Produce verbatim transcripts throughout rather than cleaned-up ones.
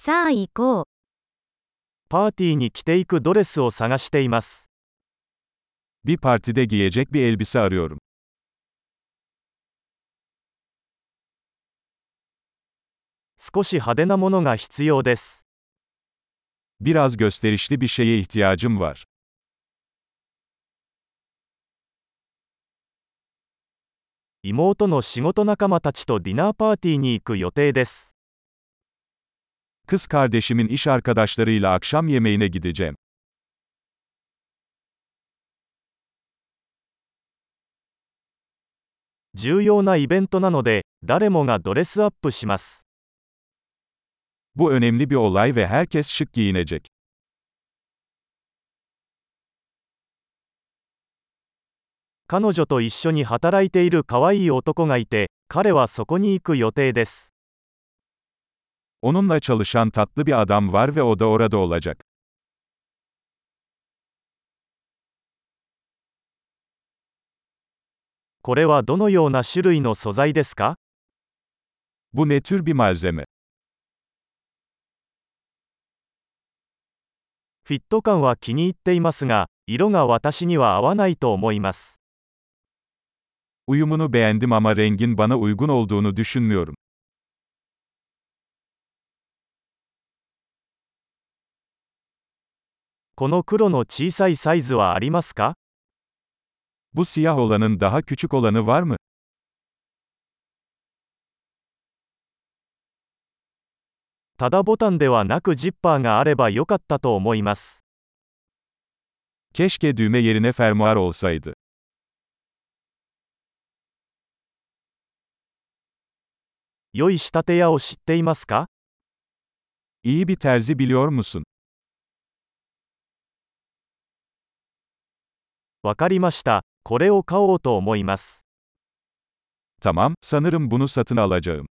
さあ行こう。 パーティーに着ていくドレスを探しています。 Bir partide giyecek bir elbise arıyorum. 少し派手なものが必要です。 Biraz gösterişli bir şeye ihtiyacım var. 妹の仕事仲間たちとディナーパーティーに行く予定です。 Kız kardeşimin iş arkadaşlarıyla akşam yemeğine gideceğim. 重要なイベントなので、誰もがドレスアップします。 Bu önemli bir olay ve herkes şık giyinecek. 彼女と一緒に働いている可愛い男がいて、彼はそこに行く予定です。 Onunla çalışan tatlı bir adam var ve o da orada olacak. これはどのような種類の素材ですか？ Bu ne tür bir malzeme? フィット感は気に入っていますが、色が私には合わないと思います。 Uyumunu beğendim ama rengin bana uygun olduğunu düşünmüyorum. この黒の小さいサイズはありますか？ Bu siyah olanın daha küçük olanı var mı? ただボタンではなくジッパーがあればよかったと思います。 Keşke düğme yerine fermuar olsaydı. 良い仕立て屋を知っていますか？ İyi bir terzi biliyor musun? わかりました。これを買おうと思います。 Tamam, sanırım bunu satın alacağım.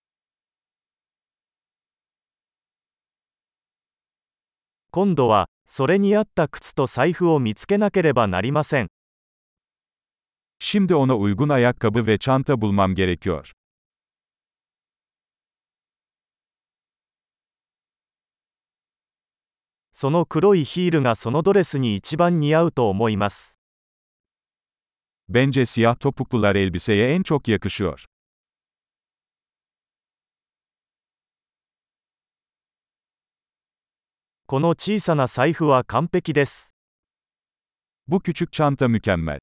今度は、それに合った靴と財布を見つけなければなりません。 Şimdi ona uygun ayakkabı ve çanta bulmam gerekiyor. その黒いヒールがそのドレスに一番似合うと思います。 Bence siyah topuklular elbiseye en çok yakışıyor. この小さな財布は完璧です。 Bu küçük çanta mükemmel.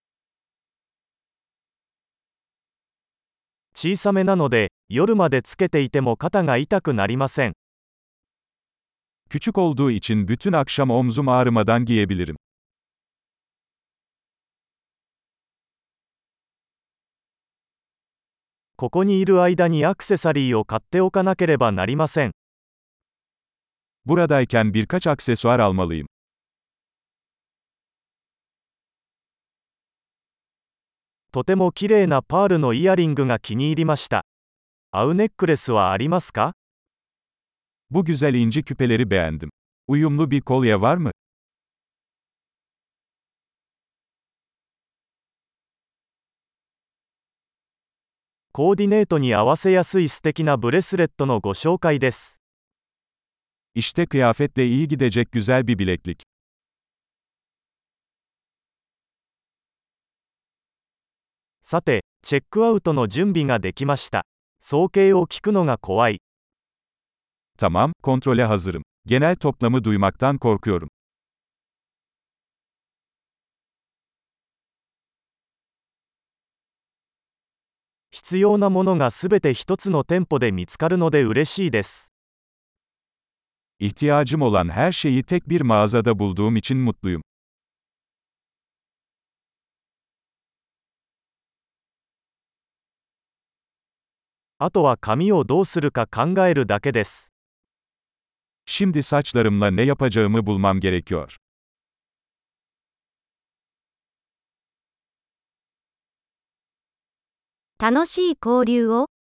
小さめなので、夜までつけていても肩が痛くなりません。 Küçük olduğu için bütün akşam omzum ağrımadan giyebilirim. ここにいる間にアクセサリーを買っておかなければなりません。 Buradayken birkaç aksesuar almalıyım. とても綺麗なパールのイヤリングが気に入りました。合うネックレスはありますか？ Bu güzel inci küpeleri beğendim. Uyumlu bir kolye var mı? コーディネートに合わせやすい素敵なブレスレットのご紹介です。 İşte kıyafetle iyi gidecek güzel bir bileklik. さて、チェックアウトの準備ができました。総計を聞くのが怖い。 Tamam, kontrole hazırım. Genel toplamı duymaktan korkuyorum. 必要なものがすべて一つの店舗で見つかるので嬉しいです。 İhtiyacım olan her şeyi tek bir mağazada bulduğum için mutluyum. あとは髪をどうするか考えるだけです。 Şimdi saçlarımla ne yapacağımı bulmam gerekiyor. 楽しい交流を。